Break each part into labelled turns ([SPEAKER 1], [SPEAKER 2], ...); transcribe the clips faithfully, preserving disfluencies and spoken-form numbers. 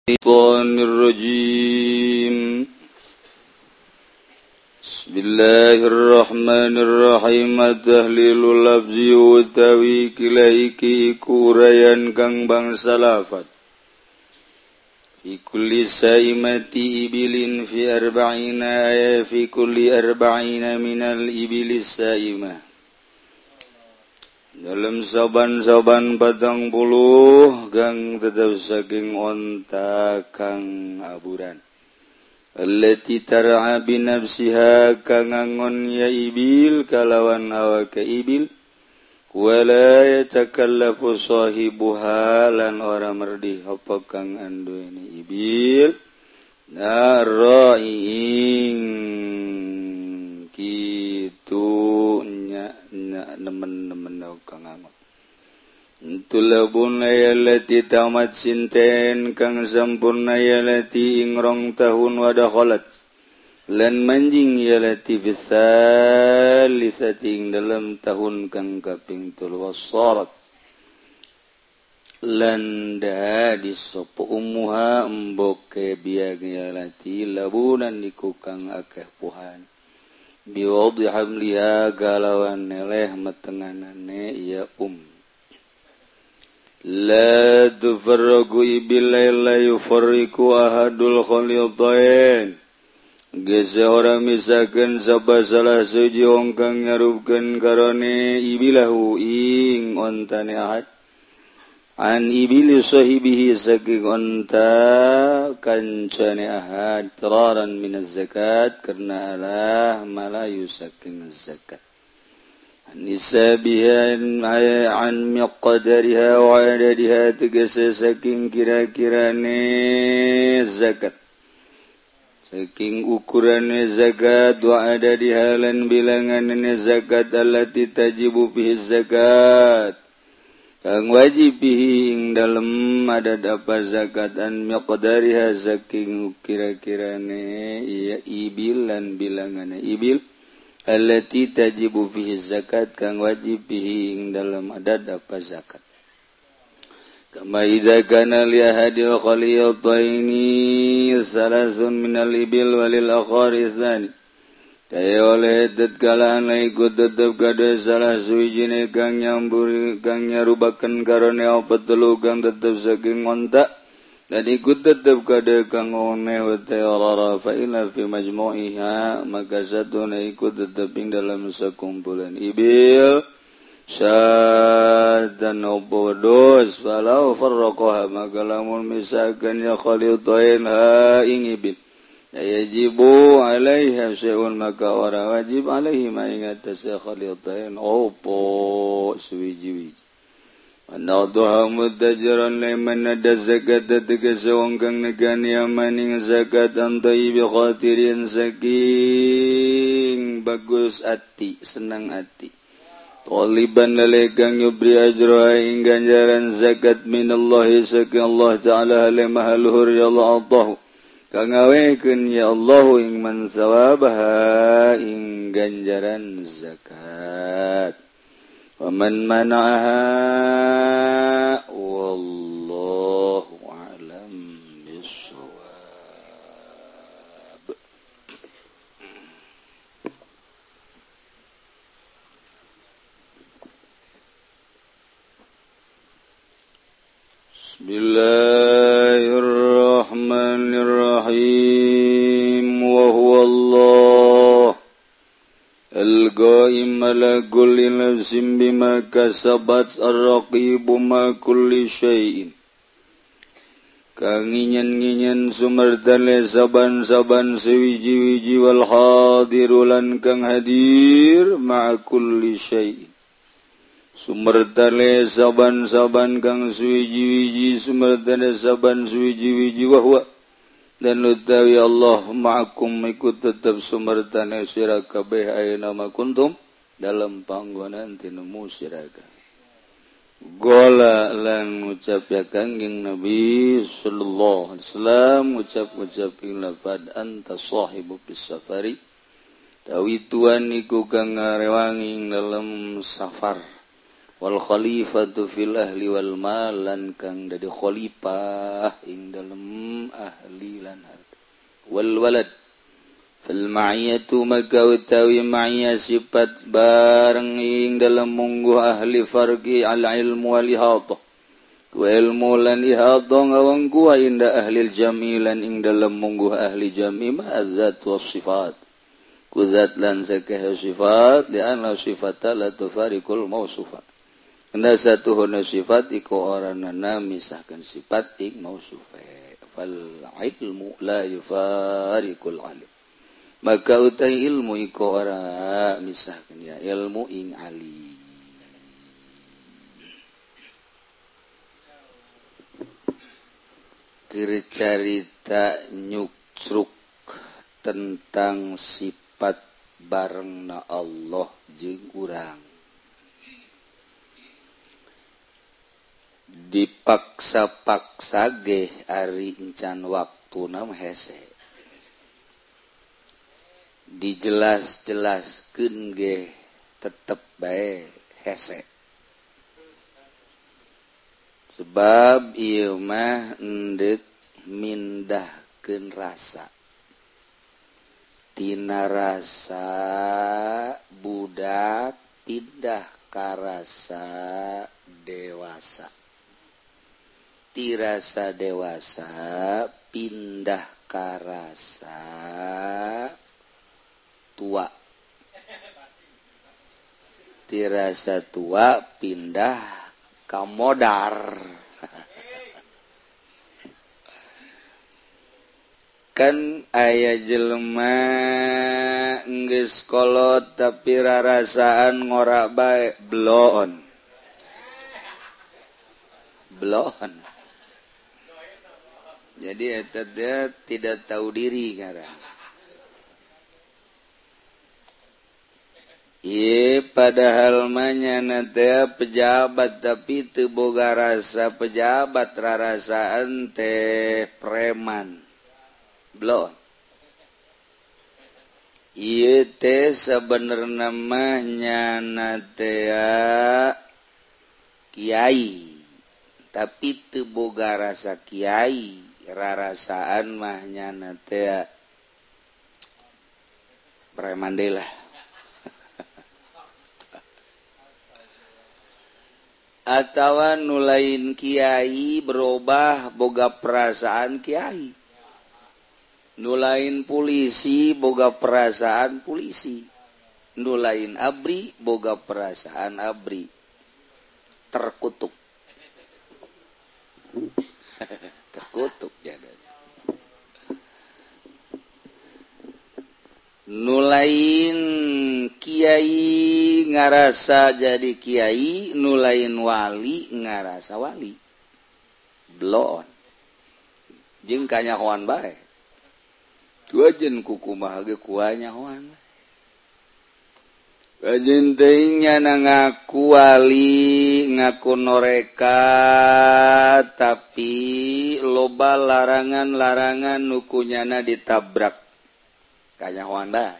[SPEAKER 1] Bismillahirrahmanirrahim. Bismillahirrahmanirrahim. Tahlilul lafzi wa tawikilaiki ikurayan kang bangsa lafad. Fi kulli saimati ibilin fi arba'ina aya fi kulli arba'ina minal ibilis saimah. Dalam saban-saban patang puluh gang tetap saking onta kang aburan. Allati tar'a bi nafsiha kang angon ya ibil kalawan awake ibil. Wala yatakallafu sahibuha lan ora merdi apa kang anduweni ibil. Nara'ing kitu nya nya nemen-nemen kang angon. Tulabun ayalati tamat sinten kang sampurna ayalati ingrong tahun wadakhalat lan manjing ayalati bisal lisating dalam tahun kang kaping telu wasarat lan da disopo umuha emboke biag ayalati labunan iku kang akeh puhan biwadhi hamliha galawan neleh metenganane ya um la tufarragu ibilai la yufarriku ahadul khalitain gese ora misakeun sabasalah suji wong kang nyarupkeun karone ibilahu ing ontane ahad an ibili sahibihi saking onta kancane ahad firaran minaz zakat karena alah malayu saking zakat nisabihan an miqdariha wa adadiha tegese saking kira-kirane zakat saking ukurane zakat wa adadiha lan bilangane zakat allati tajibu bihi zakat kang wajib bihi ing dalem adad apa zakat an miqdariha saking kira-kirane ya ibil lan bilangane ibil allati tajibu fihi zakat kang wajib bihi ing dalam adad apa zakat kama idza kana li ahadil khaliyataini salasun minal ibil walil akhari tsani kaya oleh tatkala ana iku tetep kada salah suwijine kang nyambur kang nyarubaken karone apa telu kang tetep saking onta dan ikut tetap kada kang oneh wa ta'ala fa ila fi majmu'iha maka satuna ikut tetap ing dalam sekumpulan ibil syaddan obodos falau farraqaha maka lamun misalkan ya khalitain ha ing ibil yajibu alaiha syai'un maka ora wajib alaihi ma ing atas khalitain opo suwiji-wiji Anaduha mutajiran leman ada zakat tegas wong kang negani amaning zakat antai bi khatirin saking bagus ati senang ati taliban lalegang yubri ajra ing ganjaran zakat minallahi saking Allah taala le mahaluhur ya Allah kang awekeun ya Allah ing man sawabaha ing ganjaran zakat Waman mana'aha wallahu a'lam bissawab. Bismillahirrahmanirrahim wa huwa Allah Al-Ghaim ala kulli nafsin bima kasabat ar-raqibu ma kulli syai'in kang nginyen-nginyen sumertale saban-saban sewiji-wiji wal hadirulan kang hadir ma kulli syai'in sumertale saban-saban kang sewiji-wiji sumertale saban sewiji-wiji wa huwa dan utawi Allah ma'akum ikut tetap sumertane sira kabeh ayeuna ma kuntum dalam panggonan tinemu sira kabeh gola lan ngucap ya kangjeng Nabi sallallahu alaihi wasallam ngucap-ngucap ing lafaz anta sahibu bis safari tawi tuan iku kang ngarewangi dalam safar wal khalifatu fil ahli wal mal lan kang dadi khalifah ing dalem ahli lan harta wal walad fil ma'iyatu maka utawi ma'iyah sifat bareng ing dalem mungguh ahli farqi al ilmu wal ihadah wa ilmu lan ihadah ngawang kuwa inda ahli jami lan ing dalem mungguh ahli jami ma'azat was sifat kuzat lan sakeh sifat li anna sifata la tufariqul mausufa anda satu huna sifat iku oranana misahkan sifat ing mausufa fal ilmu la yufariqul alim maka utai ilmu iku ora misahkan ya ilmu ing alim cerita nyuksruk tentang sifat barengna Allah jeung urang dipaksa-paksa ge ari encan waktuna hese dijelas-jelaskeun ge tetep bae hese sebab ieu mah endek mindahkeun rasa tina rasa budak pindah ka rasa dewasa ti rasa dewasa pindah ka rasa tua ti rasa tua pindah ka modar kan aya jelema geus kolot tapi rarasaan ngora bae bloon bloon jadi eta dia tidak tahu diri ngarang ieu padahal mah nyana teh pejabat tapi teu boga rasa pejabat rarasaan teh preman bloon ieu teh sabenerna mah nyana teh kiai tapi teu boga rasa kiai rarasaan mah nyana teh preman deui lah atawa nu lain kiai berubah boga perasaan kiai nu lain polisi boga perasaan polisi nu lain abri boga perasaan abri terkutuk terkutuk jadi nu lain kiai ngarasa jadi kiai nu lain wali ngarasa wali bloon jeung kanyahoan bae tuajen kukumaha ge kuanyahoan kajen teuing nyana ngaku wali ngaku noreka tapi loba larangan-larangan nu kunyana ditabrak kanyahoan bae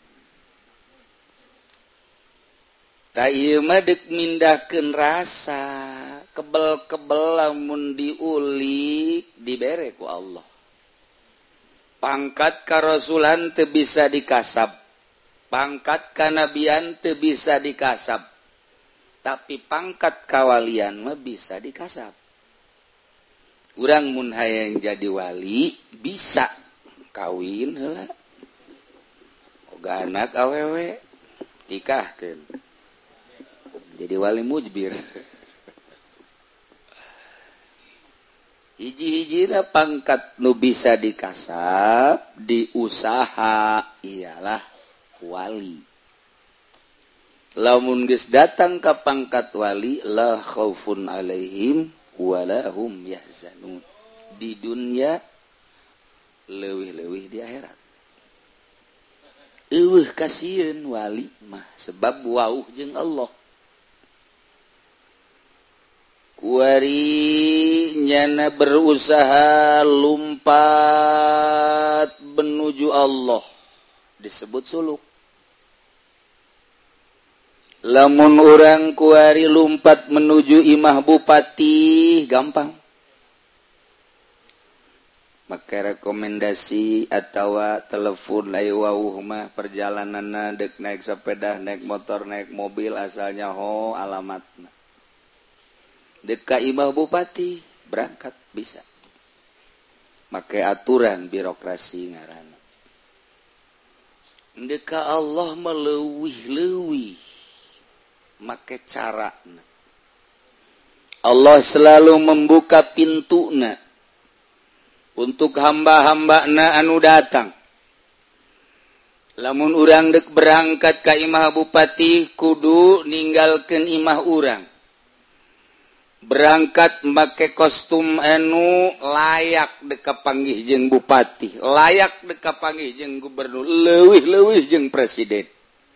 [SPEAKER 1] ta ieu mah deuk mindahkeun rasa kebel-kebel lamun diulik dibere ku Allah pangkat karasulan teu bisa dikasab pangkat kanabian teu bisa dikasab tapi pangkat kawalian mah bisa dikasab urang mun hayang jadi wali bisa kawin heula oga anak awewe nikahkeun jadi wali mujbir hiji-hijina pangkat nu bisa dikasab diusaha ialah wali lamun geus datang ka pangkat wali la khaufun alaihim wala hum yahzanun di dunia leuwih-leuwih di akhirat eueuh kasieun wali mah sebab wauh jeung Allah kuari nyana berusaha lumpat menuju Allah disebut suluk lamun orang kuari lumpat menuju imah bupati gampang. Maka rekomendasi atau telepon lai wauh mah perjalananna dek naik sepeda, naik motor, naik mobil asalnya ho alamatna. Dek ka imah bupati berangkat bisa. Make aturan birokrasi ngaranna. Dek ka Allah meleuwih-leuwih make carana. Allah selalu membuka pintuna untuk hamba-hambana anu datang. Lamun urang dek berangkat ka imah bupati kudu ninggalkeun imah urang. Berangkat make kostum anu layak dek kapanggih jeung bupati, layak dek kapanggih jeung gubernur, leuwih-leuwih jeung presiden.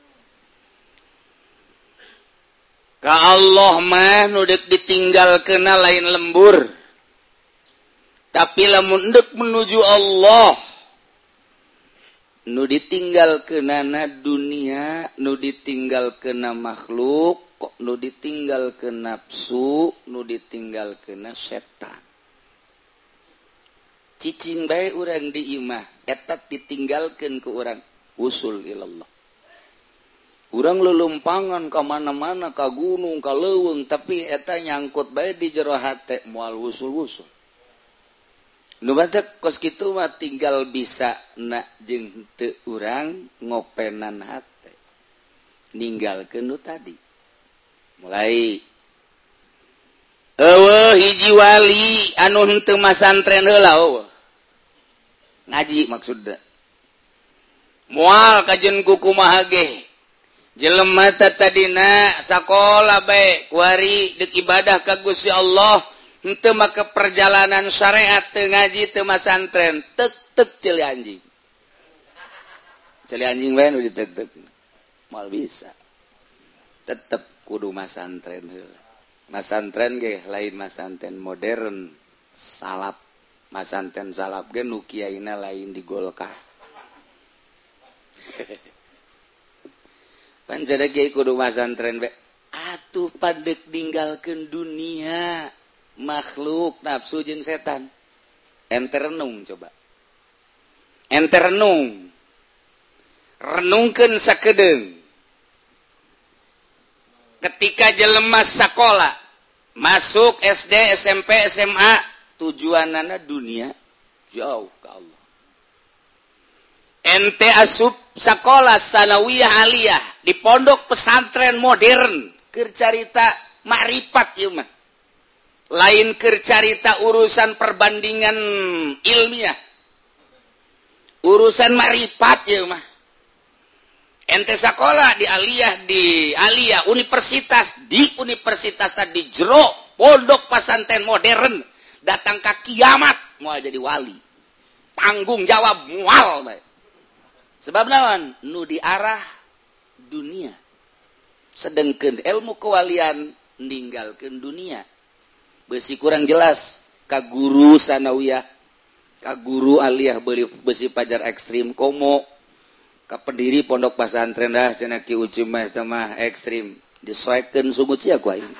[SPEAKER 1] Ka Allah mah nu dek ditinggalkeunna lain lembur. Tapi lamun dek menuju Allah nu ditinggalkeunana dunia, nu ditinggalkeunna makhluk, kok nu ditinggalkeun nafsu, nu ditinggalkeunna setan. Cicing bae urang di imah eta ditinggalkeun ku urang usul ilallah. Urang lelumpangan ka mana-mana, ka gunung, ka leuweung, tapi eta nyangkut bae di jero hate moal usul-usul. Nu batek kos kitu mah tinggal bisa na jeung teu urang ngopenan hate. Ninggalkeun nu tadi. Mulai eueuh hiji wali anu henteu masantren heula eueuh. Ngaji maksudna. Moal kajen kukumaha ge. Jelema tadina sakola bae kuari dek ibadah ka Gusti Allah henteu make perjalanan syariat teu ngaji teu masantren tek-tek ceuli anjing. Ceuli anjing bae nu ditek-tek. Moal bisa. Tetep kudu masantren heula. Masantren ge lain masantren modern salap. Masantren salap ge nu kiaina lain di Golkar. Pancada kiai kudu masantren be. Atuh padek ninggalkeun dunia, makhluk, nafsu jeung setan. Ente renung coba. Ente renung. Renungkeun sakedeung. Ketika jelema sakola, masuk S D, S M P, S M A, tujuanana dunia, jauh ke Allah. Ente asup sakola sanawiyah aliyah di pondok pesantren modern keur carita makrifat ieu mah. Lain keur carita urusan perbandingan ilmiah. Urusan makrifat ieu mah. Ente sakola di aliyah di aliyah universitas di universitas tadi jero pondok pesantren modern datang ka kiamat moal jadi wali. Tanggung jawab moal bae. Sebab naon? Nu diarah dunia. Sedengkeun ilmu kewalian ninggalkeun dunia. Beusi kurang jelas ka guru sanawiyah, ka guru aliyah beusi pajar ekstrim komo, ka pendiri pondok pesantren dah cenah Ki Ucim mah teh mah ekstrim. Disoekeun sumut sia ku aing.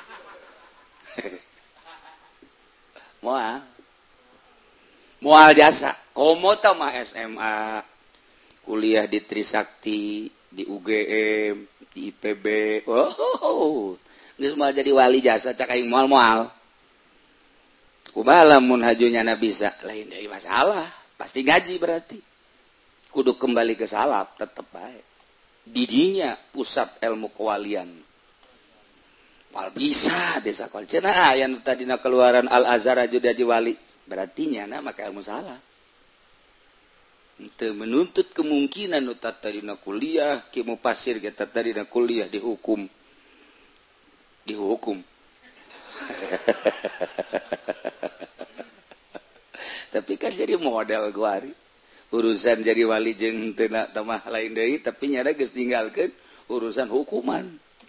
[SPEAKER 1] Moal. Moal jasa. Komo teh mah S M A. Kuliah di Trisakti, di U G M, di I P B. Oh, oh, oh. Geus moal jadi wali jasa cak aing moal-moal. Kumaha lamun hajunya na bisa? Lain deui masalah. Pasti ngaji berarti. Kudu kembali ke salaf tetep bae. Didinya pusat ilmu kewalian. Wal bisa desa kal cenah aya nu tadina keluaran Al Azhar aju jadi wali. Berarti nya na make ilmu salaf. Ente menuntut kemungkinan nu tadina kuliah ki mufasir ge tadina kuliah dihukum dihukum tapi kan jadi model guari urusan jadi wali jeung teu na tamah lain deui tapi nya geus tinggalkeun urusan hukuman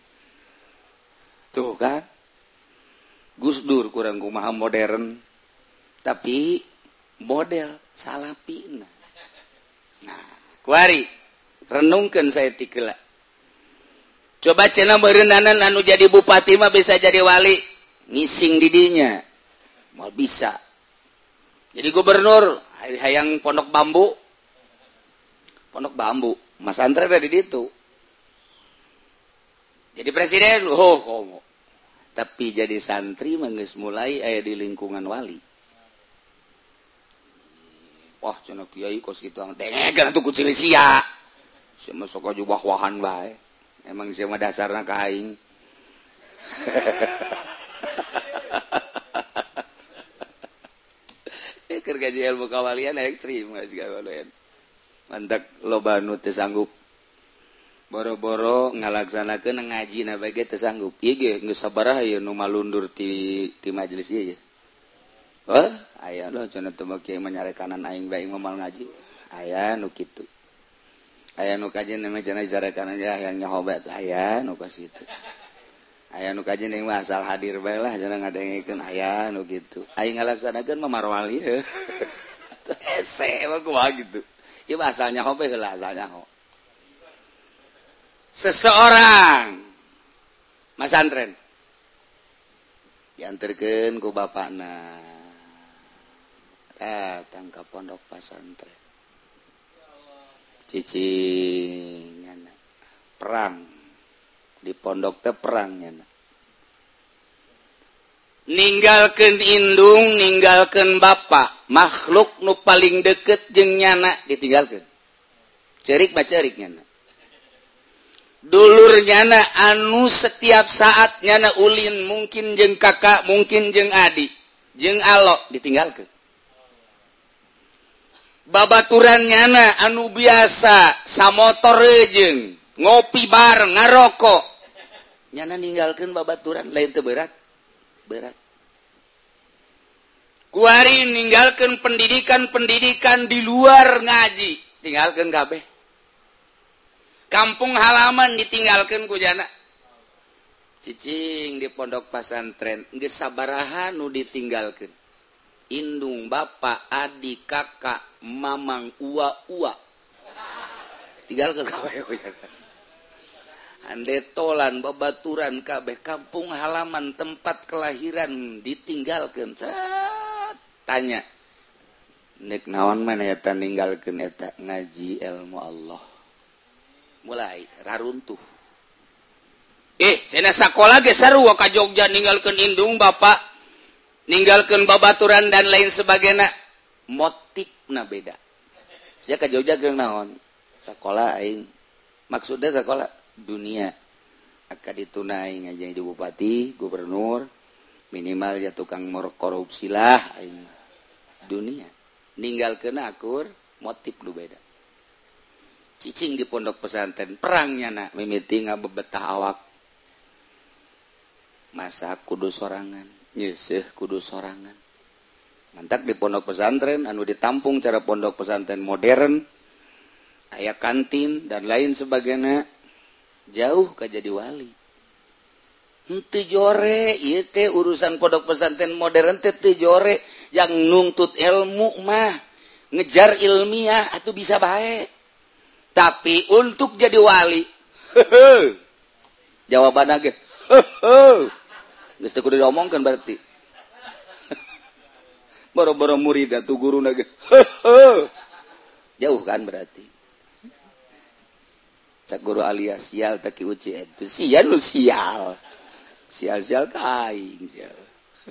[SPEAKER 1] tuh kan Gus Dur kurang kumaha modern tapi model salafina. Nah, kuari renungkeun saya tikeula. coba cenah berendanan anu jadi bupati mah bisa jadi wali ngising didinya mau bisa jadi gubernur hayang pondok bambu pondok bambu mas antren ada di situ jadi presiden oh komo tapi jadi santri mah geus mulai aya di lingkungan wali wah cenah kiai kos kitu dengegan atuh ku cilisia sia mah sok aju wah-wahan bae emang sia mah dasarna ka aing keur gaji ilmu kawalian ekstrim geus kawalian mantak loba nu teu sanggup boro-boro ngalaksanakeun ngaji na bae teu sanggup ieu ge geus sabaraha ieu nu malundur ti ti majelis ieu ya oh aya lo cenah teu kieu menyarekanan aing bae ngomal ngaji aya nu kitu aya nu kajen mah cenah jarekanan aja yang nyoba teh aya nu ka situ aya nu kajen yang asal hadir bae lah cenah ngadengikeun aya nu kitu aing ngalaksanakeun mah marwal ieu ese mah kumaha gitu ieu asalnya hobe heula asalnya ho seseorang mas antren dianterkeun ku bapakna datang ke pondok pesantren cicing perang di pondok teh perang nyana ninggalkeun indung ninggalkeun bapak makhluk nu paling deket jeung nyana ditinggalkeun ceurik bacerik nyana dulur nyana anu setiap saat nyana ulin mungkin jeung kakak mungkin jeung adik jeung alok ditinggalkeun babaturan nyana anu biasa samotor jeung ngopi bareng ngarokok nyana ninggalkeun babaturan lain teu berat berat kuari ninggalkeun pendidikan-pendidikan di luar ngaji tinggalkeun kabeh kampung halaman ditinggalkeun ku jana cicing di pondok pesantren geus sabaraha nu ditinggalkeun indung bapak adik kakak mamang ua-ua tinggalkeun kabeh ku jana handetolan babaturan kabeh kampung halaman tempat kelahiran ditinggalkeun cat tanya nek naon mana eta ninggalkeun eta ngaji ilmu Allah mulai raruntuh eh cenah sakola ge sarua ka Jogja ninggalkeun indung bapak ninggalkeun babaturan dan lain sebagainya motifna beda sia ka Jogja ge naon sakola aing maksudna sakola dunia akan ditunai ngaji di bupati gubernur minimal ya tukang korupsi lah aing dunia ninggalkeun akur motif lu beda cicing di pondok pesantren perangnya nak mimiti ngabebetah awak masak kudu sorangan nyeuseuf kudu sorangan mantak di pondok pesantren anu ditampung cara pondok pesantren modern aya kantin dan lain sebagainya jauh ka jadi wali henteu jore ieu teh urusan pondok pesantren modern teh teu jore yang nuntut ilmu mah ngejar ilmiah atuh bisa bae tapi untuk jadi wali jawabanna ge geus teu kudu diomongkeun berarti boro-boro murid atuh guruna ge jauh kan berarti cak guru alias sial taki uci itu sial lu sial sial-sial kaing sial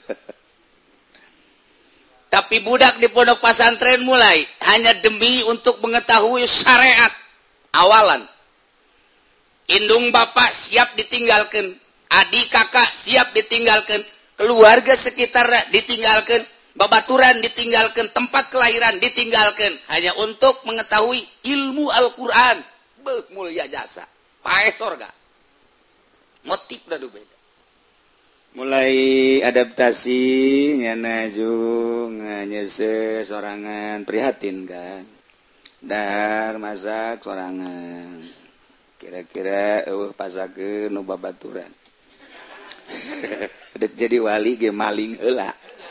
[SPEAKER 1] tapi budak di pondok pesantren mulai hanya demi untuk mengetahui syariat awalan indung bapak siap ditinggalkan adik kakak siap ditinggalkan keluarga sekitar ditinggalkan babaturan ditinggalkan tempat kelahiran ditinggalkan hanya untuk mengetahui ilmu Al-Quran beuh mulia jasa pae sorga motif dah beda mulai adaptasi nyana jung nyese sorangan prihatin kan dar masak sorangan kira-kira eueuh pasakeun nu babaturan dek jadi wali ge maling heula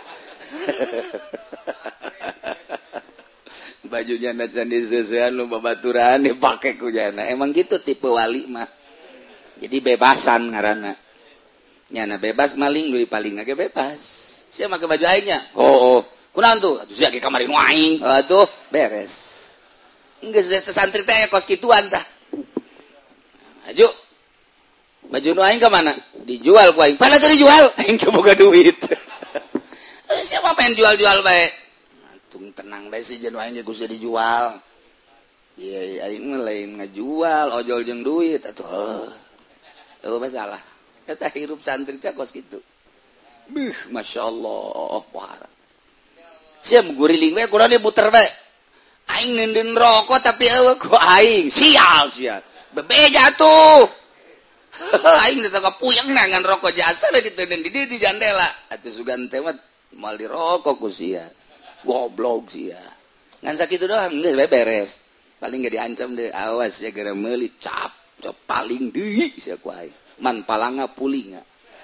[SPEAKER 1] bajunya nacan diseusean nu babaturan dipake ku jana emang gitu tipe wali mah jadi bebasan ngaranna nyana bebas maling deui paling ge bebas sia make baju aingnya oh oh kunaon tuh atuh sia ge kamari nu aing atuh beres geus santri teh kos kituan tah aju baju nu aing ka mana dijual ku aing pala teu dijual aing teu boga duit siapa pengen jual-jual bae tung tenang bae si jeung aing geus dijual iya aing mah lain ngajual ojol jeung duit atuh heuh masalah eta hirup santri teh kos kitu beuh masyaallah wah sia guriling we kunaon dia muter we aing nenden rokok tapi eueuh ku aing sial sia bebeja tuh aing teh kapuyeng nangan rokok jasa da kitu di di jandela atuh sugan teh mah moal dirokok ku sia goblok sia ngan sakitu doang geus beres paling gak diancam deh awas ya gara meuli cap cap paling deui sia ku aing man palanga pulinga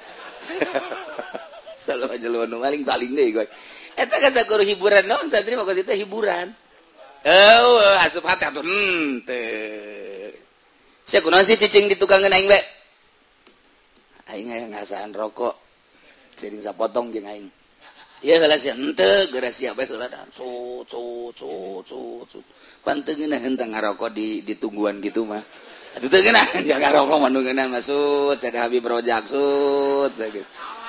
[SPEAKER 1] selalu aja lu nu paling paling deui gue eta kan sakur hiburan naon santri mah kitu hiburan eueuh asup hati atuh henteu sia kunaon sih cicing di tukangan aing we aing aya ngasaan rokok sering sapotong jeung aing ieu heula sia henteu geura sia bae heula dah sut sut sut sut sut panteungeuna henteu ngarokok di di tungguan gitu mah atuh teu geuna jangan ngarokok mah nu geuna masud sada Habib Rojak sut begitu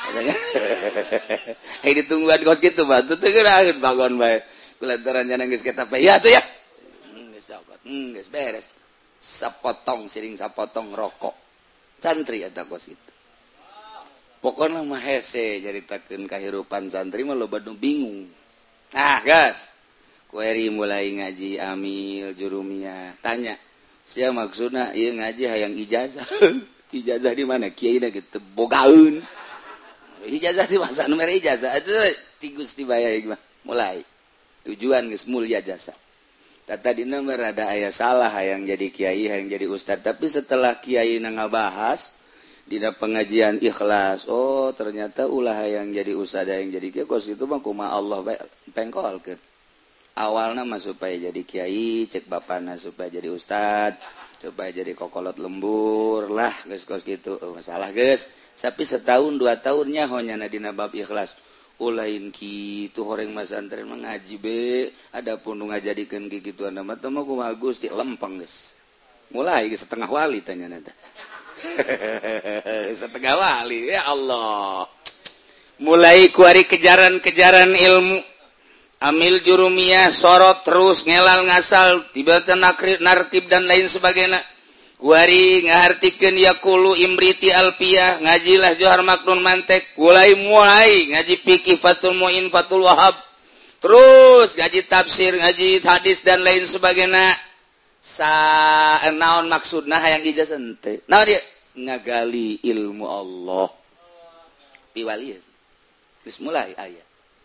[SPEAKER 1] ai di tungguan kos kitu mah teu geuna bangun bae kulantaran nya geus kita pe ya atuh ya geus sokot geus beres sapotong siring sapotong rokok santri eta kos kitu pokoknya mah hese jaritakeun kahirupan santri mah loba nu bingung nah gas kueri mulai ngaji amil jurumiyah tanya sia maksudna ieu ngaji hayang ijazah ijazah di mana kiai na gitu bogaeun ijazah di mana nu mere ijazah atuh ti Gusti bayar mah mulai tujuan geus mulya jasa tata dina mah rada aya salah hayang jadi kiai hayang jadi ustad tapi setelah kiai na ngabahas dina pengajian ikhlas oh ternyata ulah yang jadi usada yang jadi kiai kos itu mah kumaha Allah pengkolkeun awalna mah supaya jadi kiai cek bapana supaya jadi ustad supaya jadi kokolot lembur lah geus kos kitu oh, masalah geus tapi setahun dua tahunnya honyana dina bab ikhlas ulain kitu horeng mas santri mah ngaji be adapun nu ngajadikeun kikituan mah teh mah kumaha Gusti lempeng geus mulai geus setengah wali tanyana teh setengah wali ya Allah mulai kuari kejaran-kejaran ilmu amil jurumiyah sorot terus ngelal ngasal tiba-tiba nartib dan lain sebagainya kuari ngahartikeun yaqulu imriti alfiyah ngajilah johar maknun mantek mulai mulai ngaji fikih fatul muin fatul wahab terus ngaji tafsir ngaji hadis dan lain sebagainya sa naon maksudna hayang ijazah teh naon dia ngagali ilmu Allah piwalian geus mulai aya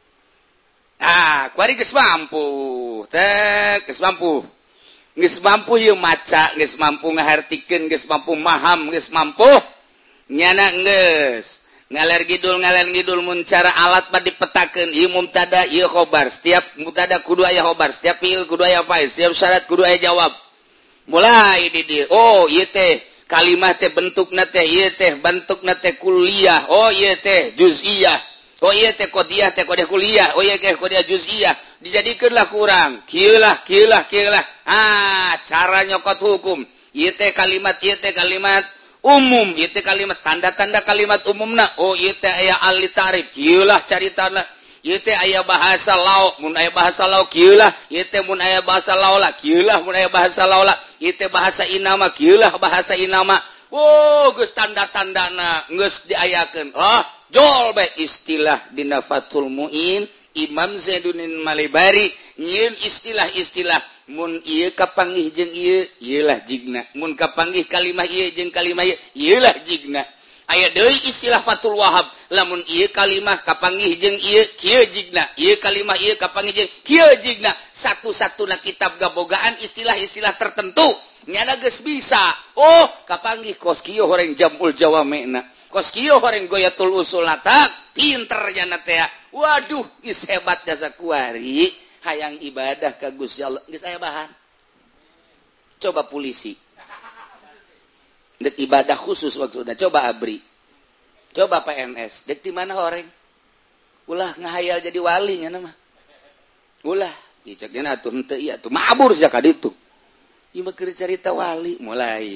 [SPEAKER 1] ah kuari geus mampu teh geus mampu geus mampu ieu maca geus mampu ngahartikeun geus mampu maham geus mampu nyana geus ngaler gidul ngaler gidul mun cara alat bad dipetakeun ieu mubtada ieu khobar setiap mubtada kudu aya khobar setiap fiil kudu aya fa'il setiap syarat kudu aya jawab mulai di dieu oh ieu teh kalimat teh bentukna teh ieu teh bentukna teh kuliah oh ieu teh juz'iyah oh ieu teh qadiyah teh qadiyah kuliah oh ieu teh qadiyah juz'iyah dijadikeunlah kurang kieu lah kieu lah kieu lah ah cara nyokot hukum ieu teh kalimat ieu teh kalimat umum ieu teh kalimat tanda-tanda kalimat umumna oh ieu teh aya al-tarif kieu lah caritana ieu teh aya bahasa lauk mun aya bahasa lauk kieu lah ieu teh mun aya bahasa laula kieu lah mun aya bahasa laula ieu teh bahasa inama kieu lah bahasa inama oh geus tanda-tandana geus diayakeun oh jol bae istilah dina Fathul Muin Imam Zainuddin Malibari nyieun istilah-istilah mun ieu kapanggih jeung ieu ieulah jigna mun kapanggih kalimah ieu jeung kalimah ieu ieulah jigna aya deui istilah Fathul Wahab lamun ieu kalimah kapanggih jeung ieu kieu jigna ieu kalimah ieu kapanggih jeung kieu jigna satu-satuna kitab gabogaan istilah-istilah tertentu nyana geus bisa oh kapanggih kos kieu horeng jamul jawamena kos kieu horeng goyatul usul nata pinter nyana teh waduh geus hebat jasa kuari hayang ibadah ka Gusti Allah geus aya bahan coba polisi dek ibadah khusus maksudna. Coba abri, coba P N S, dek di mana orang ulah ngahayal jadi wali nya nama ulah cek dia atuh henteu ieu atuh mabur sia ka ditu ieu mah keur carita wali. Mulai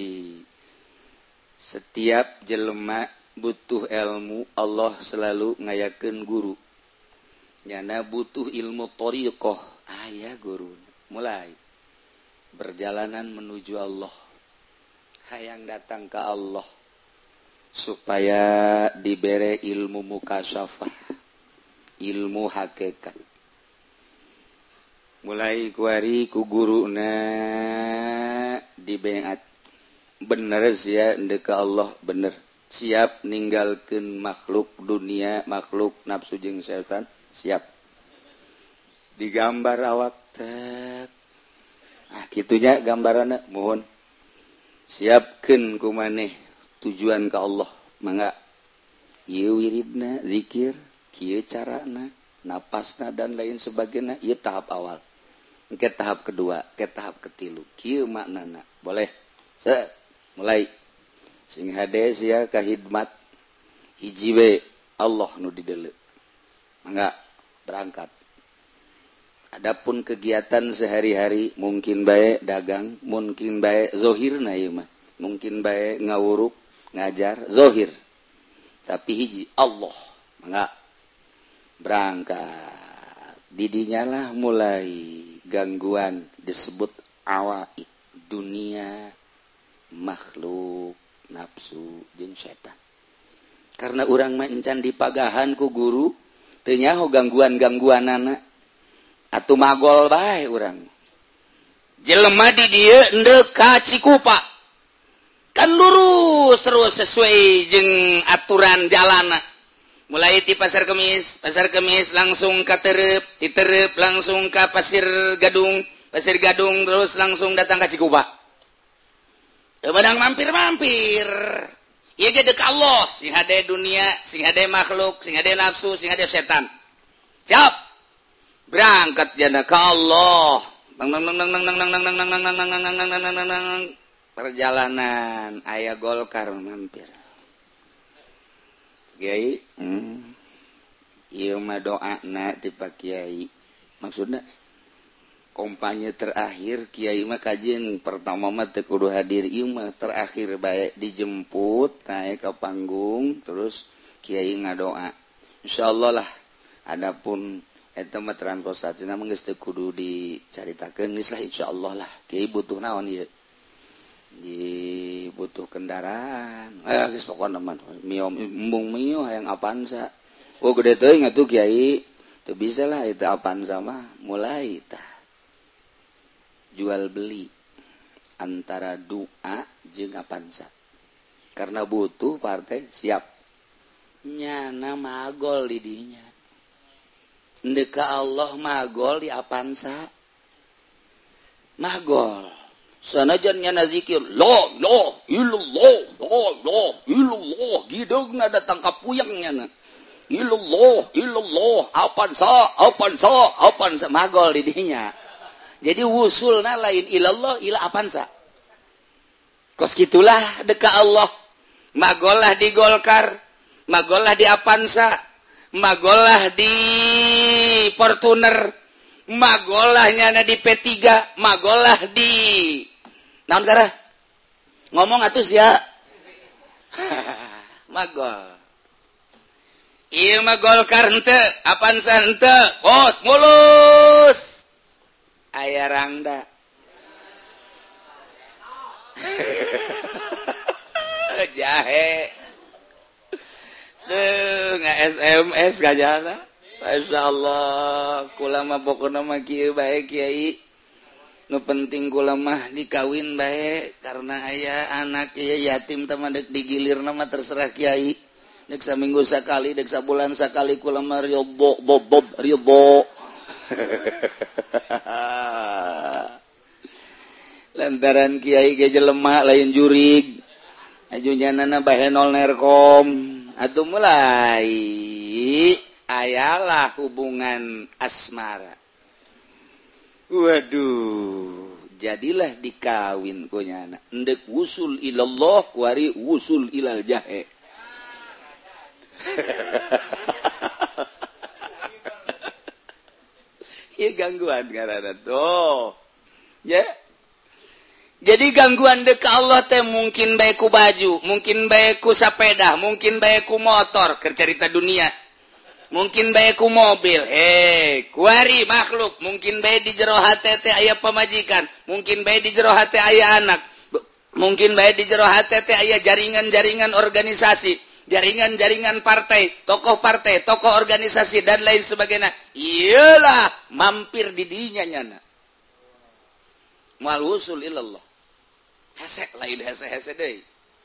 [SPEAKER 1] setiap jelema butuh ilmu, Allah selalu ngayakeun guru nyana butuh ilmu thariqah aya guru. Mulai berjalanan menuju Allah, hayang datang ke Allah supaya dibere ilmu mukasyafah, ilmu hakikat. Mulai kuari ku guruna dibeat bener sia endeu ka Allah, bener siap ninggalkeun makhluk dunia, makhluk nafsu jeung setan, siap digambar awak teh. Ah kitunya gambaranna mohon siapkeun ku maneh tujuan ka Allah. Mangga ieu wiridna zikir, kieu carana, napasna dan lain sebagainya. Ieu tahap awal. Ke tahap kedua, ke tahap ketilu. Kieu maknana. Boleh. Se mulai sing hade sia ka khidmat hiji we Allah nu dideuleu. Mangga berangkat. Adapun kegiatan sehari-hari mungkin bae dagang, mungkin bae zohirna ieu mah. Mungkin bae ngawuruk, ngajar, zohir. Tapi hiji Allah. Mangga berangkat. Didinya lah mulai gangguan disebut awaid, dunia, makhluk, nafsu, jeung setan. Karena urang mah encan dipagahan ku guru, teu nyaho gangguan-gangguanana. Atuh magol bae urang. Jelema di dieu endeu ka Cikupa. Kan lurus terus sesuai jeung aturan jalanna. Mulai di Pasar Kemis, Pasar Kemis langsung ke Terep, di Terep langsung ke Pasir Gadung, Pasir Gadung terus langsung datang ke Cikupa. Badang mampir-mampir. Ieu ge deuk Allah, sing hade dunia, sing hade makhluk, sing hade nafsu, sing hade setan. Siap. Berangkat jana ka Allah. Perjalanan aya Golkar mampir. Kiai, hmm. Ieu mah doana ti Pak Kiai. Maksudna kampanye terakhir Kiai mah kajian pertama mah teu kudu hadir, ieu mah terakhir bae dijemput naik ke panggung terus Kiai ngadoa. Insyaallah lah. Adapun eta mah transportasina mah geus teu kudu dicaritakeun, geus lah insyaallah lah. Kiai butuh naon ieu? Di butuh kendaraan. Eh geus pokona mah mio embung mio hayang Avanza. Oh gede teuing atuh Kiai. Teu bisa lah eta Avanza mah mulai tah. Jual beli antara doa jeung Avanza. Karena butuh partai siap. Nyana magol di dinya. Endeu ka Allah magol di Avanza. Magol. Sanajan nyana zikir la la illallah la la illallah gideugna datang ka puyang nyana illallah illallah Avanza Avanza Avanza magol di dinya. Jadi wusulna lain ilallah ila Avanza. Kos gitulah deka Allah. Magollah di Golkar, magollah di Avanza, magollah di Fortuner, magollah nyana di P tiga, magollah di naon gara? Ngomong atuh sia. Magol. Ieu mah Golkar henteu, Avanza henteu, hot mulus. Aya rangda. Jahe. Duh, nggak S M S kajana. Masyaallah, kula mah pokona mah kieu bae Kiai. Nu penting kula mah dikawin bae karena aya anak ieu yatim teh mah deuk digilirna mah terserah Kiai. Deuk saminggu sakali, deuk sabulan sakali kula mah ridho, bob ridho. Lantaran Kiai ge jelema lain jurig. Ajunyanana bahenol nerkom. Atuh mulai ayalah hubungan asmara. Waduh, jadilah dikawin kunyana endek wusul ilallah kuari wusul ilal jahe. Iya gangguan karena tuh ya. Jadi gangguan dek Allah teh mungkin baik ku baju, mungkin baik ku sepeda, mungkin baik ku motor, kercerita dunia. Mungkin baik ku mobil. Eh, kuari makhluk, mungkin baik di jero hate teh aya pamajikan, mungkin baik di jero hate aya anak. Mungkin baik di jero hate teh aya jaringan-jaringan organisasi, jaringan-jaringan partai, tokoh partai, tokoh organisasi dan lain sebagainya. Iyalah mampir di dinya nyana. Mal wusul ilallah. Hesek lain hese-hese deh.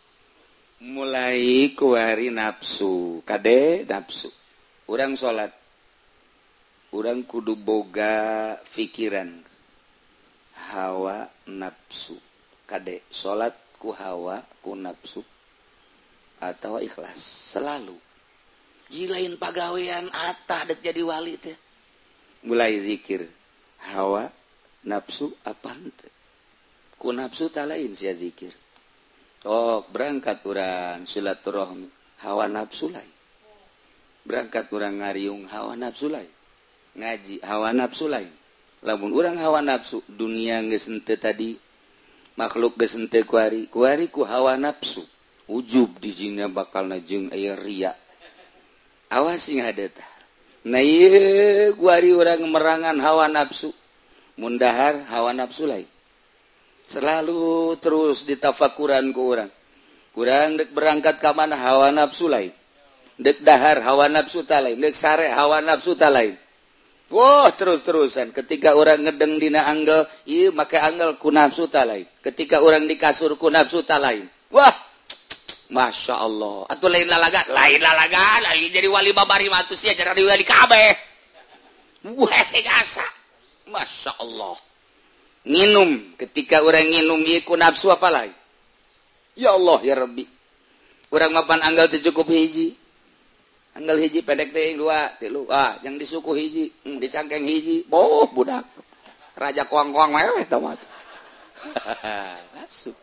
[SPEAKER 1] Mulai kuari nafsu, kade nafsu. Urang sholat, urang kudu boga pikiran, hawa nafsu, kade sholat ku hawa ku nafsu, atau ikhlas selalu. Jilain pagawean atah dek jadi wali teh. Mulai zikir, hawa nafsu apa ente? Ku nafsu tak lain sia zikir. Oh berangkat urang silaturahmi hawa nafsu lain. Berangkat urang ngariung hawa nafsu lain. Ngaji hawa nafsu lain. Lamun urang hawa nafsu dunia geus henteu tadi makhluk geus henteu kuari kuari ku hawa nafsu. Ujub di jina bakalna jeung aya ria. Awas sing hade tah. Na ieu kuari urang merangan hawa nafsu. Mundahar hawa nafsu lain. Selalu terus ditafakuran ku urang. Urang dek berangkat ka mana hawa nafsu lain. Dek dahar hawa nafsu ta lain, dek sare hawa nafsu ta lain. Wah, terus-terusan ketika orang ngedeng dina anggel, ieu make anggel ku nafsu ta lain. Ketika orang di kasur ku nafsu ta lain. Wah, Masya Allah. Atuh lain lalaga, lain lalaga, lain jadi wali babari mah atuh sia jadi wali kabeh. Wah, segasa. Masya Allah. Nginum, ketika orang nginum ieu ku nafsu apa lain? Ya Allah ya Rabbi. Urang mapan anggal teu cukup hiji. Anggal hiji pendek teh dua, tilu. Ah, yang disuku hiji, hmm, dicangkeng hiji. Boh budak. Raja kuang-kuang meweh tah mah. Nafsu.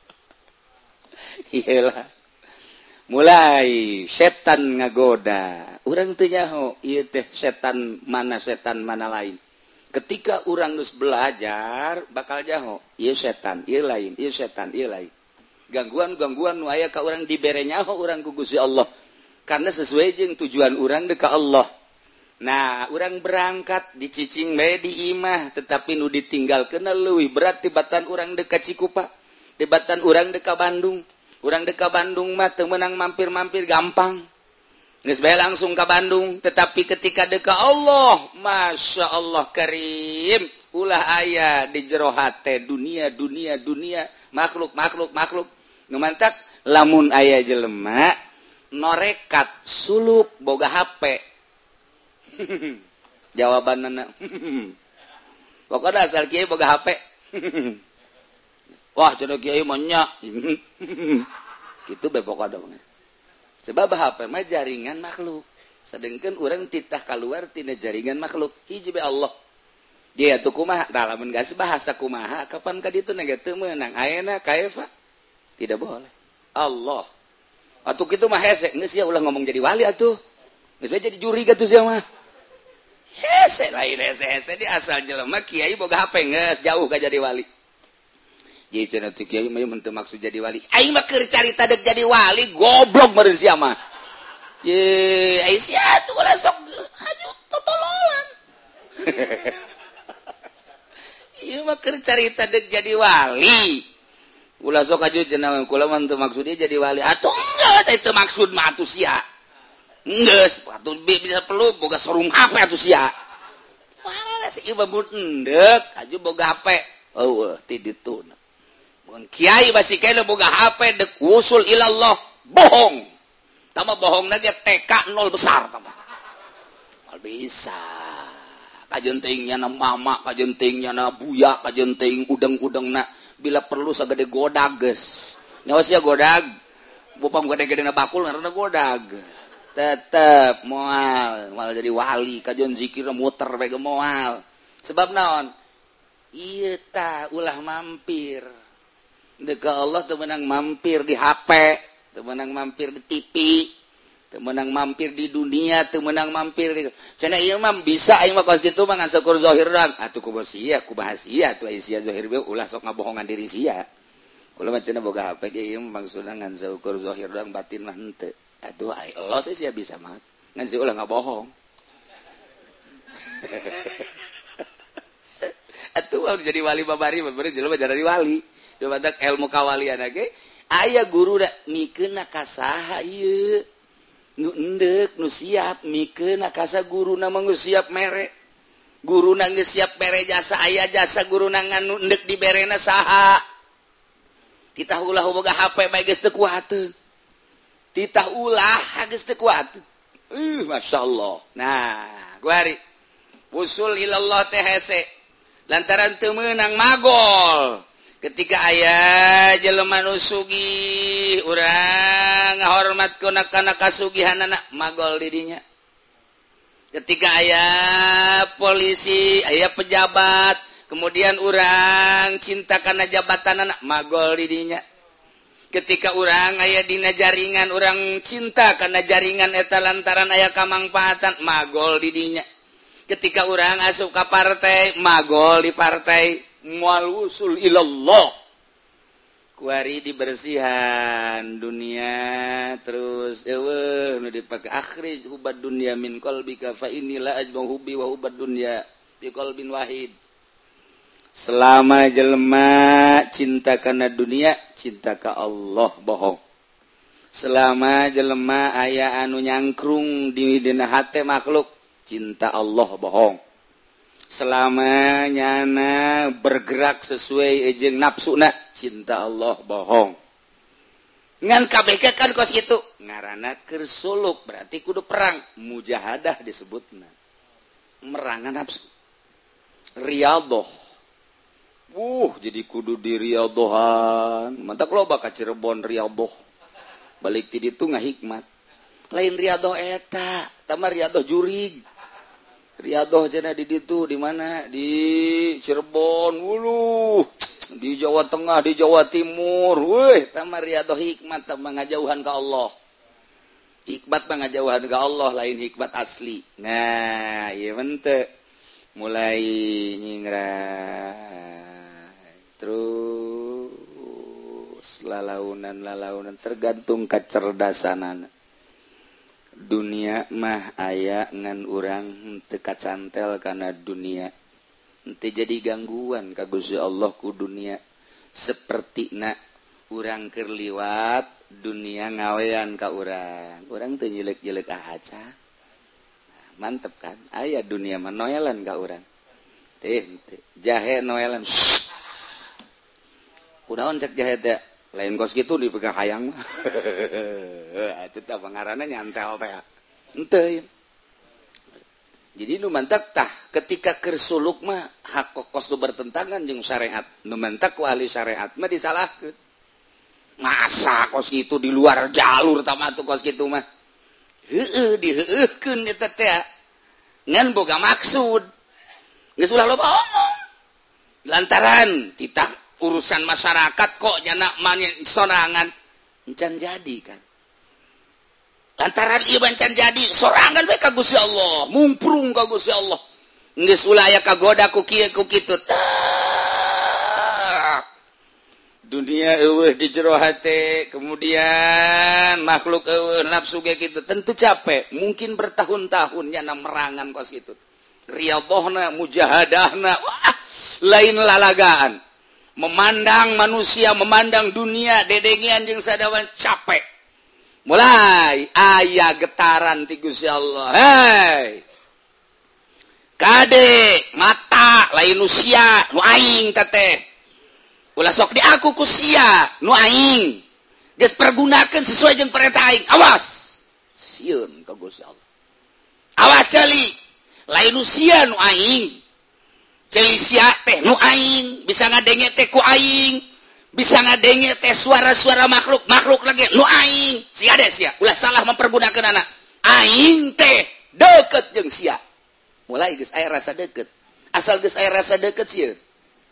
[SPEAKER 1] Iyalah. Mulai setan ngagoda. Urang teu nyaho ieu teh setan mana setan mana lain. Ketika urang geus belajar bakal jaho, ieu setan, ieu lain, ieu setan, ieu lain. Gangguan-gangguan nu aya ka urang dibere nyaho urang ku Gusti Allah. Karena sesuai jeung tujuan urang ka Allah. Nah, urang berangkat dicicing bae di imah, tetapi nu ditinggalkeun leuwih berat tibatan urang dek ka Cikupa, tibatan urang dek ka Bandung. Urang dek ka Bandung mah teu meunang mampir-mampir gampang. Geus bae langsung ka Bandung, tetapi ketika dek ka Allah, Masya Allah Karim, ulah aya di jero hate dunia, dunia, dunia, makhluk, makhluk, makhluk. Ngemantak lamun aya jelema norekat sulup boga H P. Jawabanna pokoknya asal kiai boga H P. Wah, cenah kiai mah nya. Kitu bae pokona. Sebab H P mah jaringan makhluk. Sedengkeun urang titah kaluar tina jaringan makhluk. Hiji bae Allah. Dia tuh kumaha? Tah lamun geus bahasa kumaha kapan ka ditu nage teu meunang. Ayeuna kaifa? Tidak boleh. Allah. Atuh kitu mah hese, geus sia ulah ngomong jadi wali atuh. Geus bae jadi juri gatuh sia mah. Hese lain hese-hese di asal jelema kiai boga H P geus jauh ka jadi wali. Jadi cenah teu kiai mah mun teu maksud jadi wali. Aing mah keur carita dek jadi wali, goblok meureun sia mah. Ye, ai sia tuh ulah sok aju totololan. Ieu mah keur carita dek jadi wali. Ulah sok aju cenah kula mah teu maksud dia jadi wali. Atuh geus itu maksud mah atuh sia. Geus atuh bisa perlu boga showroom H P atuh sia. Wah, si ieu bambut endek aju boga H P. Eueuh ti ditu. Mun kiai basi kiai boga H P dek wusul ilallah, bohong. Tama bohongna dia T K nol besar tama. Mal bisa. Kajentingnya na mama, kajentingnya na buya, kajenting udeng-udengna bila perlu sagede godag geus. Nyawa sia godag. Bopam gede-gede na bakul ngaranna godag. Tetep moal, moal jadi wali, kajen zikir muter bae moal. Sebab naon? iya ta ulah mampir deka Allah teu meunang mampir di H P teu meunang mampir di T V teu meunang mampir di dunia teu meunang mampir di cenah ieu mah bisa aing mah kos kitu mah ngan syukur zahir urang atuh kumaha sia kumaha sia atuh sia zahir we ulah sok ngabohongan diri sia ulah mah cenah boga H P ge ieu maksudna ngan syukur zahir urang batin mah henteu atuh ai Allah sia bisa mah ngan si ulah ngabohong atuh jadi wali babari bener jelema jadi wali badak ilmu kawalian ge aya guru da mikeun ka saha ieu nu endek nu siap mikeun ka sa guruna mah geus siap mere guruna geus siap mere jasa aya jasa guruna nganu endek diberena saha titah ulah boga H P bae geus teu kuateun titah ulah geus teu kuateun uh masyaallah nah guari usul ilallah teh hese lantaran teu meunang magol ketika ayah jelema nu sugih urang ngahormatkeun kana kasugihanana magol di dinya ketika ayah polisi ayah pejabat kemudian urang cinta kana jabatanana magol di dinya ketika urang aya dina jaringan urang cinta kana jaringan eta lantaran aya kamangpaatan magol di dinya ketika urang asup ka partai magol di partai mual usul ilallah kuari dibersihan dunia terus eueuh nu dipake akhrij hubad dunya min qalbika fa inilah ajma hubbi wa hubad dunya bi qalbin wahid selama jelema cinta kana dunia cinta ka Allah bohong selama jelema aya anu nyangkrung di dina hate makhluk cinta Allah bohong selama nyana bergerak sesuai ejeng nafsuna cinta Allah bohong ngan kabeh kan kos kitu ngaranna keur suluk berarti kudu perang mujahadah disebutna merangan nafsu riyadhah uh jadi kudu di riyadhahan mantap loba ka Cirebon riyadhah balik ti ditu ngahikmat lain riyadhah eta tamah riyadhah jurig riyadhah cenah di ditu di mana di Cirebon uluh di Jawa Tengah di Jawa Timur weh tamah riyadhah hikmat tamah ngajauhan ka Allah hikmat mah ngajauhan ka Allah lain hikmat asli nah ieu mente mulai nyingrai terus lalaunan-lalaunan tergantung kacerdasanana dunia mah aya ngan urang teu kacantel kana dunia teu jadi gangguan ka Gusti Allah ku dunia sapertina urang keur liwat dunia ngawean ka urang urang teu nyelek-nyelek ahaca mantep kan aya dunia mah noelan ka urang teh teh jahe noelan kunaon cek jahe teh lain kos gitu dipegang hayang mah itu teh pangaranna nyantel teh henteu jadi nu mantak tah ketika keur suluk mah hak kos nu bertentangan jeung syariat nu mantak ku ahli syariat mah disalahkeun masa kos kitu di luar jalur tama atuh kos kitu mah heueuh diheueuhkeun eta teh ngan boga maksud geus ulah loba omong lantaran titah urusan masyarakat kok nyana manya sorangan encan jadi kan lantaran ieu encan jadi sorangan we ka Gusti Allah mumprung ka Gusti Allah geus ulah aya kagoda ku kieu ku kitu dunia eueuh di jero hate kemudian makhluk eueuh nafsu ge kitu tentu capek mungkin bertahun-tahun nyana merangan kos kitu riyadhahna mujahadahna wah lain lalagaan memandang manusia, memandang dunia, dedengian jeung sadawan capek. Mulai aya getaran ti Gusti Allah. Hei. Kade mata lain nu sia, nu aing teh. Ulah sok di aku ku sia, nu aing. Geus pergunakeun sesuai jeung perintah aing. Awas. Sieun ka Gusti Allah. Awas cali. Lain nu sia nu aing. Celi sia teh nu aing bisa ngadenge teh ku aing bisa ngadenge teh suara-suara makhluk makhluk lagi nu aing sia deh sia ulah salah mempergunakan anak aing teh deket jeung sia mulai geus aya rasa deket asal geus aya rasa deket sia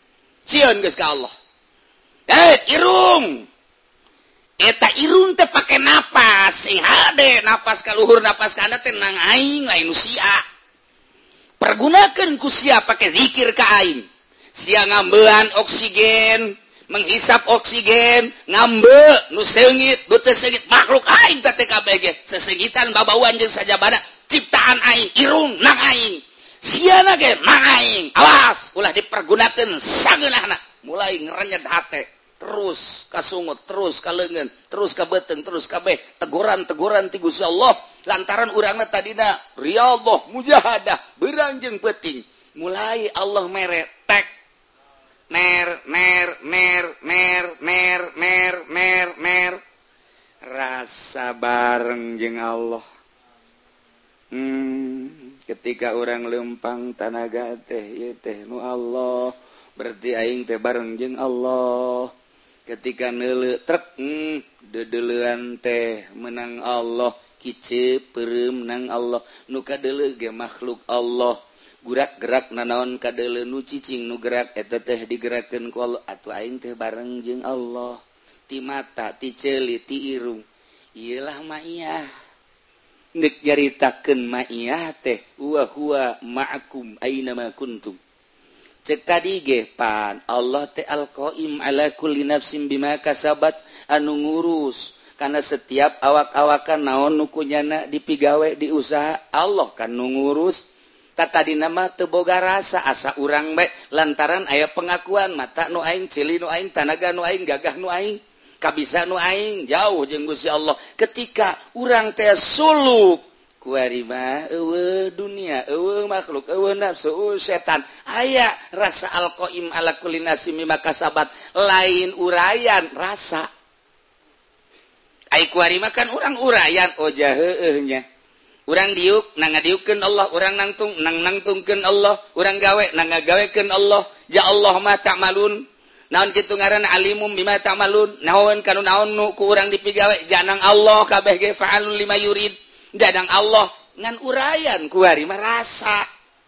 [SPEAKER 2] pasrahkeun geus ka Allah. Eh irung eta irung teh pake napas sing hade napas ka luhur napas ka handap teh nang aing lain nu sia pergunakeun ku sia pake zikir ka aing sia ngambean oksigen menghisap oksigen ngambe nu seungit nu teu seungit makhluk aing teh kabeh ge sesengitan babauan jeung sajabana ciptaan aing irung nang aing siana ge nang aing awas ulah dipergunakeun sageunahna mulai ngerenyet hate terus kasungut terus kalengan terus kabeteng terus kabeh teguran-teguran ti Gusti Allah lantaran urangna tadina riyadhah mujahadah beurang jeung peuting mulai Allah mere tek mer mer mer mer mer mer mer mer rasa bareng jeung Allah hmm ketika orang lempang tanaga teh ieu teh nu Allah berarti aing teh bareng jeung Allah ketika neuleu trek hmm, dedeleuan teh menang Allah kice peureum menang Allah nu kadeuleu ge makhluk Allah gurak-gerak nanaon kadeuleu nu cicing nu gerak eta teh digerakkeun ku Allah atuh aing teh bareng jeung Allah ti mata ti ceuli ti irung ieu lah ma'iyah neuk nyaritakeun ma'iyah teh wa huwa ma'akum aina ma kuntum cek tadi ge pan Allah teh al-qaim ala kulli nafsin bima kasabat anu ngurus kana setiap awak-awakan naon nu kunyana dipigawe di usaha Allah kan nu ngurus tatadina mah teu boga rasa asa urang bae lantaran aya pengakuan mata nu aing ceuli nu aing tanaga nu aing gagah nu aing kabisa nu aing jauh jeung Gusti Allah ketika urang teh suluk kuari mah eueuh dunia eueuh makhluk eueuh nafsu eueuh setan aya rasa alqaim ala kulli nafsin mimma kasabat lain urayan rasa ai kuari mah kan urang urayan oh jah heueuh nya urang diuk nang ngadiukeun Allah urang nangtung nang nangtungkeun Allah urang gawe nang ngagawekeun Allah ja Allah ma ta'malun naon kitu ngaranna alimum bima ta'malun naon kanu naon nu ku urang dipigawe janang Allah kabeh ge fa'alun lima yurid dadang Allah ngan urayan kuari merasa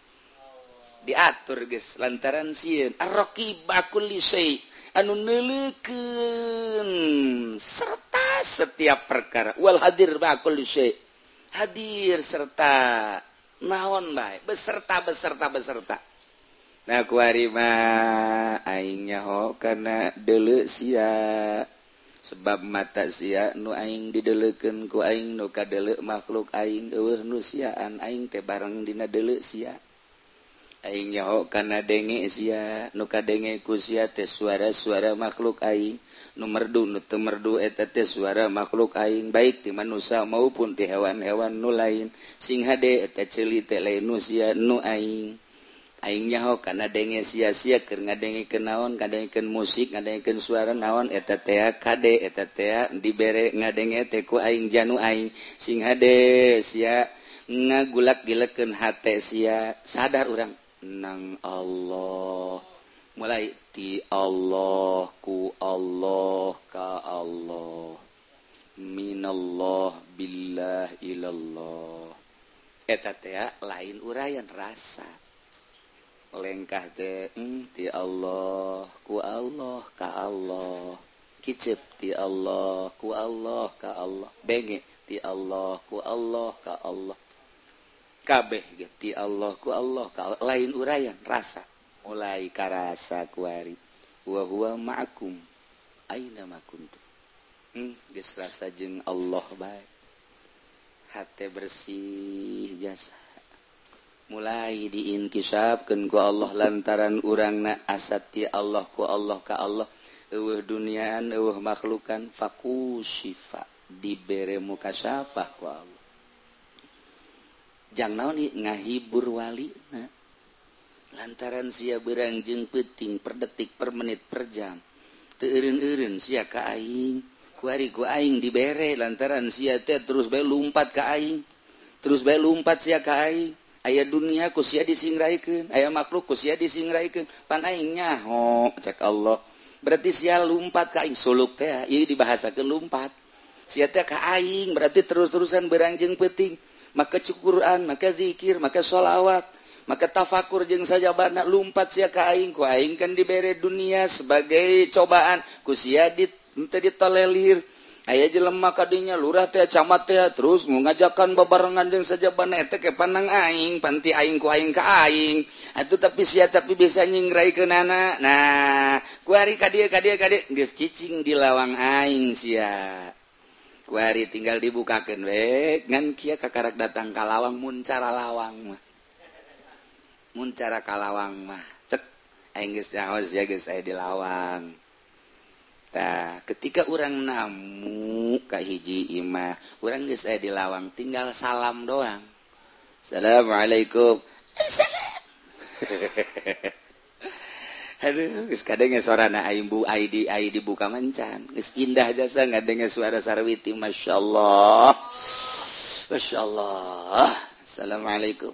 [SPEAKER 2] diatur geus lantaran sieun ar-raqibah kulli syai anu neuleukeun serta setiap perkara wal hadir ba kulli syai hadir serta naon bae beserta beserta beserta nah kuari mah aing nyaho kana deuleu sia sebab mata sia nu aing dideleukeun ku aing nu kadeuleu makhluk aing eueuh nu siaan aing teh bareng dina deuleu sia aing nyaho kana denge sia nu kadenge ku sia teh suara-suara makhluk aing nu merdu nu teu merdu eta teh suara makhluk aing baik ti manusia maupun ti hewan-hewan nu lain sing hade eta ceuli teh lain nu sia nu aing aing nyaho kana denge sia-sia keur ngadengikeun naon ngadengikeun musik ngadengikeun suara naon eta teh kade eta teh dibere ngadenge teh ku aing janu aing sing hade sia ngagulak-gilekeun hate sia sadar urang nang Allah mulai ti Allah ku Allah ka Allah minallah billah ilallah eta teh lain urayan rasa lengkah teh hmm, ti Allah ku Allah ka Allah kicep ti Allah ku Allah ka Allah benge ti Allah ku Allah ka Allah kabeh ge ti Allah ku Allah ka Allah. Lain urayan rasa mulai karasa kuari wa huwa ma'akum aina ma kuntum hmm, geus rasa jeung Allah bae hate bersih jasa mulai diinkisapkeun ku Allah lantaran urangna asati Allah ku Allah ka Allah eueuh duniaan eueuh makhlukan fakushifa dibere mukasyafah ku Allah jang naon ngahibur walina lantaran sia beurang jeung peuting per detik per menit per jam teu eureun-eureun sia ka aing ku ari ku aing dibere lantaran sia teh terus bae lumpat ka aing terus bae lumpat sia ka aing aya dunia ku sia disingraikeun aya makhluk ku sia disingraikeun pan aing nyaho cek Allah berarti sia lumpat ka aing suluk teh ieu dibahasakeun lumpat sia teh ka aing berarti terus-terusan beurang jeung peuting maka Quran maka zikir maka sholawat maka tafakur jeung sajabana lumpat sia ka aing ku aing kan dibere dunia sebagai cobaan ku sia dit teu ditolelir aya jelema kadinya lurah teh camat teh terus ngajakan babarengan jeung sajabana eta ke panang aing panti aing ku aing ka aing atuh tapi sia tapi bisa nyingraikeunana nah ku ari ka dieu ka dieu ka dieu geus cicing di lawang aing sia ku ari tinggal dibukakeun we ngan kieu kakarak datang ka lawang mun cara lawang mah mun cara kalawang mah cek aing geus nyaos ya geus aya di lawang tah ketika urang namu ka hiji imah urang geus aya di lawang tinggal salam doang assalamualaikum assalam aduh geus kadenge sorana aing bu ai di ai dibuka mancan geus indah jasa ngadenge suara sarwiti masyaallah masyaallah assalamualaikum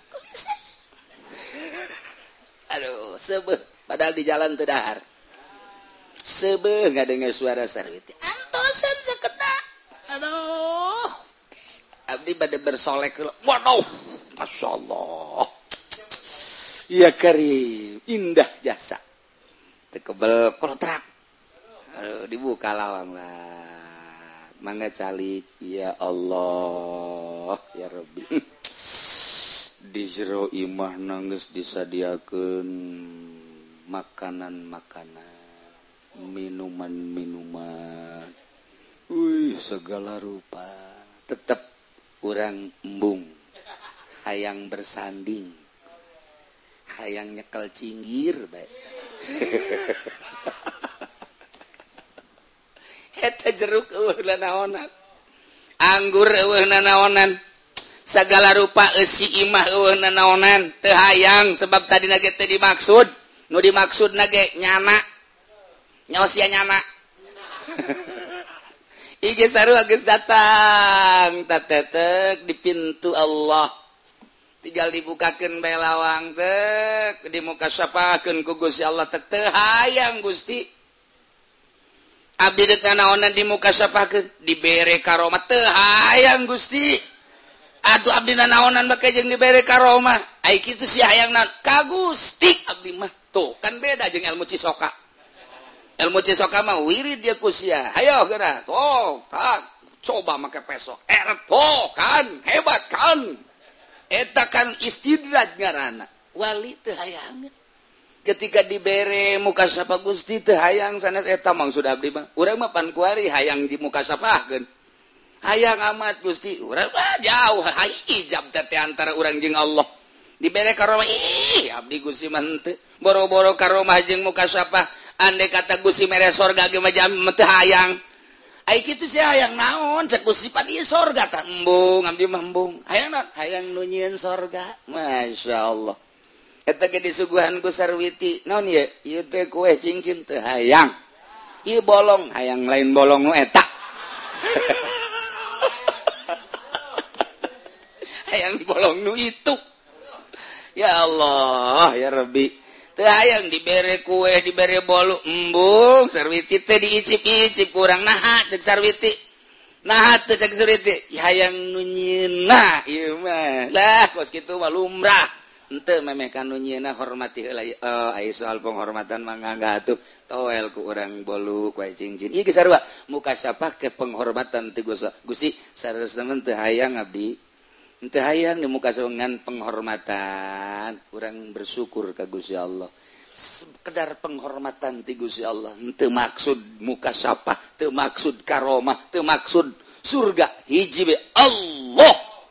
[SPEAKER 2] aduh sebeuh padahal di jalan teu dahar sebeuh ngadenge suara sarwiti antosan sakedak aduh abdi bade bersolek waduh masyaallah ya karim indah jasa teu kebel kontrak aduh dibuka lawang lah mangga calik ya Allah ya Rabbi di jero imah nangis disadiakeun makanan-makanan minuman-minuman wih segala rupa tetep urang embung hayang bersanding hayang nyekel cinggir bae eta jeruk eueuh naonan anggur eueuh naonan sagala rupa eusi imah eueuh naonan teu hayang sebab tadina ge teu dimaksud nu dimaksudna ge nyana nyaos sia nyana ige sarua geus datang tatetek di pintu Allah tinggal dibukakeun bae lawang teh di muka syapakeun ku Gusti Allah teh teu hayang Gusti abdi deuk naonan di muka syapakeun dibere karomah teu hayang Gusti atuh abdi naonan make jeung dibere karomah ai kitu sia hayang naon ka Gusti abdi mah tuh kan beda jeung ilmu cisoka ilmu cisoka mah wirid dia ku sia hayo geura tuh tak coba make peso erto kan hebat kan eta kan istidraj ngaranna wali teu hayang ketika dibere muka sapa Gusti teu hayang sanes eta maksud abdi mah urang mah pan kuari hayang di muka sapakeun hayang amat Gusti urang mah jauh hijab teh antara urang jeung Allah dibere karomah ih abdi Gusti mah teu boro-boro karomah jeung muka sapa andai kata Gusti mere sorga ge mah jam teu hayang ai kitu sia hayang naon cek Gusti pan ieu sorga tah embung abdi mah embung hayang naon hayang nu nyieun sorga masyaallah eta ge disuguhan ku sarwiti naon ieu ieu teh kue cincin teu hayang ieu bolong hayang lain bolong nu eta hayang bolong nu itu ya Allah ya Rabbi teu hayang dibere kue dibere bolu embung sarwiti teh diicip-icip kurang naha cek sarwiti naha teh cek sarwiti hayang nu nyieunna ieu mah lah kos kitu mah lumrah henteu memeh ka nu nyieunna hormati heula oh aya soal penghormatan mangga atuh toel ku urang bolu kue cincin ieu ge sarua muka sapa ke penghormatan ti Gusti saresna teu hayang abdi teu hayang di muka sorangan penghormatan urang bersyukur ka Gusti Allah sekedar penghormatan ti Gusti Allah teu maksud muka sapa teu maksud karomah teu maksud surga hiji be Allah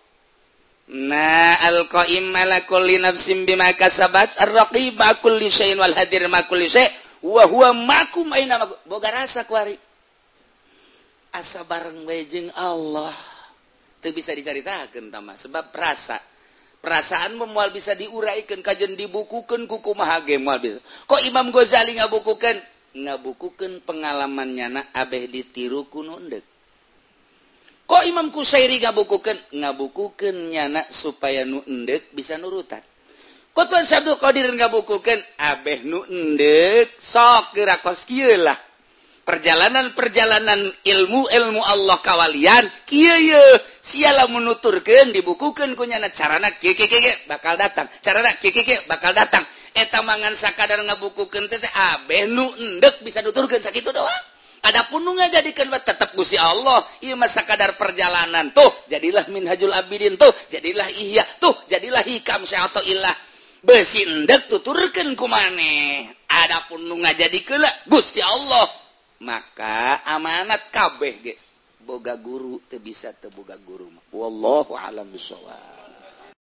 [SPEAKER 2] na al-qaim ala kulli nafsin bima kasabat ar-raqib kulli syai'in wal hadir ma kulli syai' wa huwa ma'akum aina boga rasa kuari asa bareng we jeung Allah teu bisa dicaritakeun tama sebab rasa perasaan moal bisa diuraikeun kajen dibukukeun ku kumaha ge moal bisa kok Imam Ghazali ngabukukeun ngabukukeun pengalamannya abeh ditiru ku nu endeup kok Imam Qusairi ngabukukeun ngabukukeun nyana supaya nu endeup bisa nurutan kok Tuan Abdul Qadir ngabukukeun abeh nu endeup sok geura kos kieu lah perjalanan-perjalanan ilmu-ilmu Allah kawalian kieu ye siala menuturkeun dibukukeun ku nyana carana kieu kieu kieu bakal datang carana kieu kieu bakal datang eta mangan sakadar ngabukukeun teh abeh nu endek bisa nuturkeun sakitu doang adapun nu ngajadikeun tetep Gusti Allah ieu mah sakadar perjalanan tuh jadilah Minhajul Abidin tuh jadilah Ihya tuh jadilah Hikam Syai'atullah beusi endek tuturkeun ku maneh adapun nu ngajadikeun Gusti Allah maka amanat kabeh ge boga guru teu bisa teu boga guru wallahu a'lam bishawab.